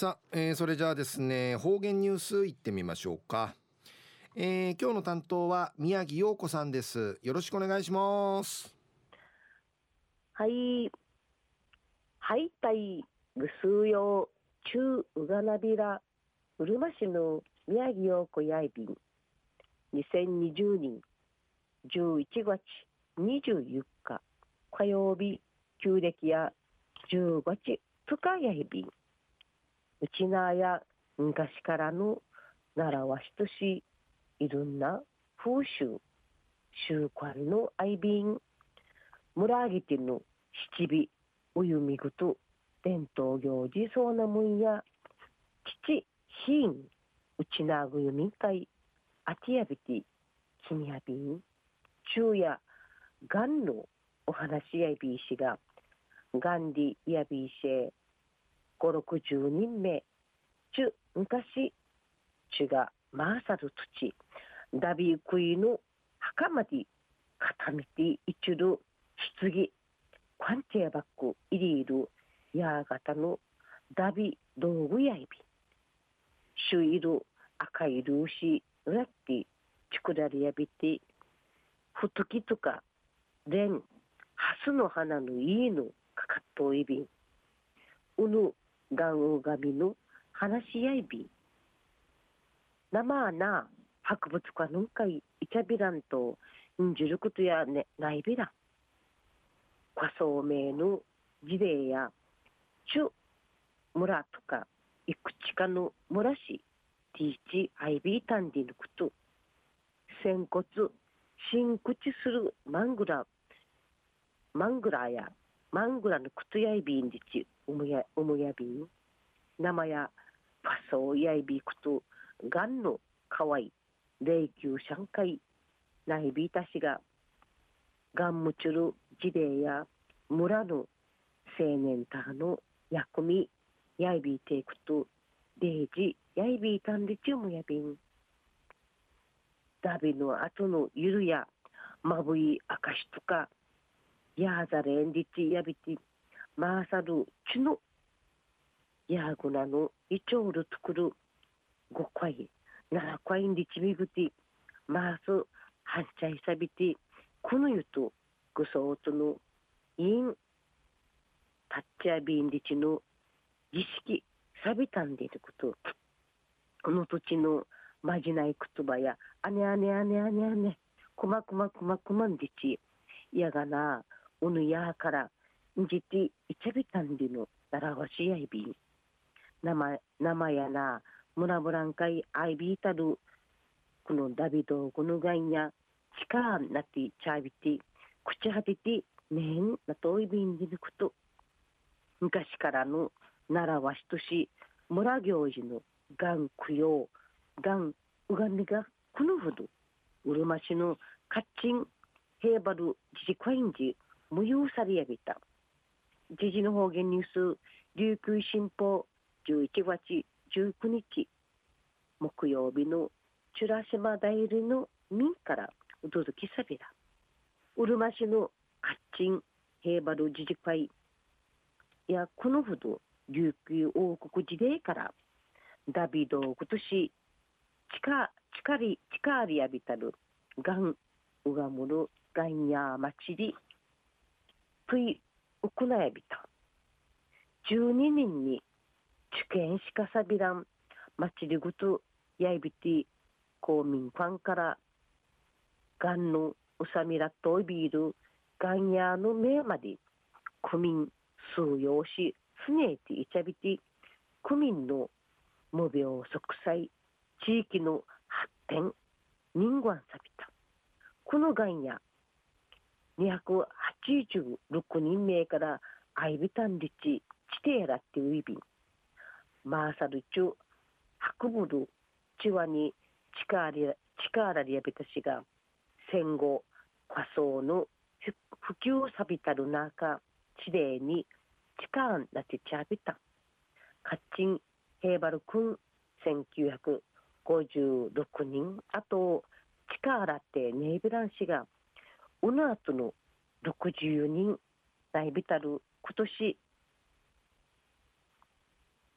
さあ、それじゃあですね、方言ニュースいってみましょうか。今日の担当は宮城陽子さんです。よろしくお願いします。 はい、はい、たい、ぐすうよう、ちゅう、うがなびら、うるま市の宮城陽子やいびん、2020年11月24日、火曜日、旧暦や10月2日やいびん、うちなや昔からの習わしとし、いろんな風習、習慣のあいびん、村あげての七尾、おゆみぐと、伝統行事そうなもんや、父、ひん、うちなぐゆみんかい、あてやびて、きみやびん、昼夜、がんのお話やびいしが、がんりやびいしえ、5、60人目、ちゅ、昔、ちゅが、まーさる土、ダビークイの墓まで、固めていちる、棺、カンチェバックイリールヤーガタのダビ道具やいびシュイル赤いルーシーラッティチクラリやびてふときとかレンハスの花のいいのかかっといびんうぬガンウガミの話しやいびん生な博物館のかいイチャビランとんじゅることやねないびらん過疎名の事例や中村とかいくちかの村市ティーチアイビータンディのこと仙骨新口するマングラやマングラのことやいびんでちうむやびん生やパソやいびことがんのかわい霊柩上海ないびいたしががんむちゅる事例や村の青年たの役みやいびいていくとデージやいびいたんでちゅうもやびんダビの後のゆるやまぶいあかしとかやーざれんりちやびてまーさるちゅのやーぐなのいちょうるとくる5回7回んりちみぐてまーすはんちゃいさびてこのゆとぐそうとのいんタッチやびんりちの儀式さびたんでいることこの土地のまじない言葉やあねあねあねあねあねくまくまくまくまんでちやがなおぬやからんじていちゃびたんでのならわしやいびん生やなむらむらんかいあいびいたるこのダビドこのがんやちかなってちゃびて口はててねんなといびんでること昔からの習わしとし村行事のがん供養がんうがみがこのほどうるま市のカッチンヘーバル自治会員時無用されやびた時事の方言ニュース琉球新報11月19日木曜日のチュラ島代理の民からお届けさびらうるま市のカッチンヘーバル自治会やこのほど琉球王国時代からダビド今年近りやびたるがんうがむるがんやまちりぷいうくなやびた12人に受験しかさびらんまちりぐとやいびて公民館からがんのうさみらといびるがんやのめまで区民数用しすねていちゃびて区民の無病息災地域の発展人間さびたこのがんや286人名からアイビタンリチチテーラってウィビンマーサルチュ博物チワに力リアビタシが戦後仮想の普及さびたる中地霊に力なってちゃびたカッチンヘーバル君1956人あと力ってネイビラン氏がうのあとの64人内ビタル今年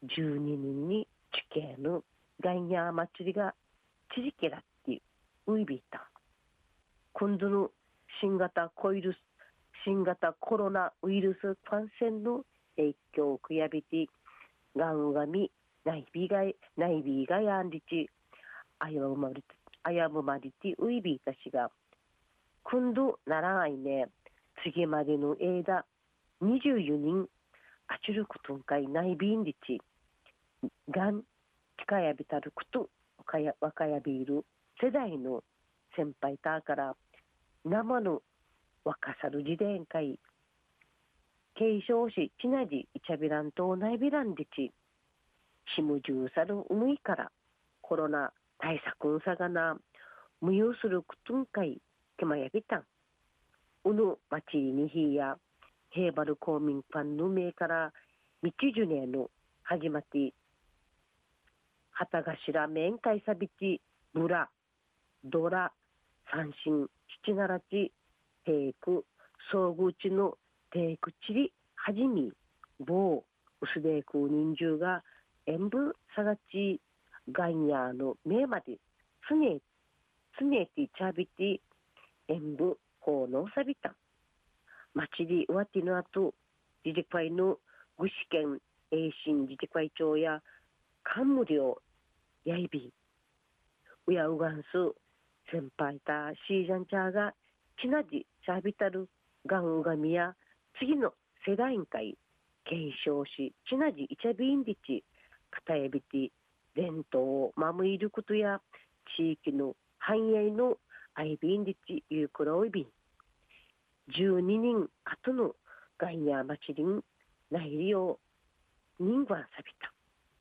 12人に地形のガンヤー祭りがちじけらってウイビータ今度の新型コロナウイルス感染の影響をくやびてがんがみ内ビがやんりちあやむまりてウイビーたちが今度ならないね次までの間24人あちることんかい内ビンりちがん近やびたること若やびいる世代の先輩たから生の若さる時代会継承しちなじいちゃびらんとないびらんでちしむじゅうさるうむいからコロナ対策んさがな無用するくとんかいけまやびたんうぬまちにひやヘーバル公民館の名から道ジュネの始まって旗頭面会さびちブラドラ三振七ならちテイク総合地のテイクチリはじみ棒薄でく人数が演武さがちガンヤーの名まで常てちゃびて演武法のさびた町でわての後自治会の具志堅栄新自治会長や官無料やいびうやうがんす先輩たシージャンチャーがちなじしゃびたるがんうがみや次の世代委員会継承しちなじいちゃびんりちかたやびて伝統を守ることや地域の繁栄のアイビンリチユークロイビン12人後のガンヤーマチリン内利用人がさびた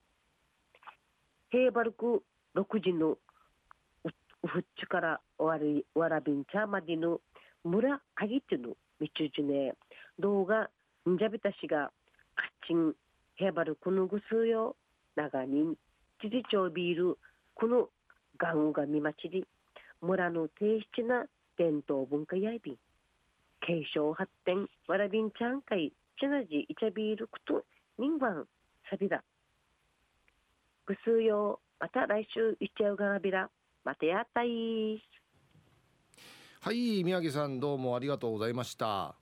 ヘーバルク6時のうふっちからわらびんちゃまでの村あぎてのみちゅじね動画んじゃびたしがカッチンヘーバルクのぐすよ長人知事長ビールこのガンがみまちり村の低質な伝統文化やいびん継承発展わらびんちゃんかいちなじいちゃビールくと人番さびだぐすよまた来週いっちゃうがなびらまたやったいはい、宮城さんどうもありがとうございました。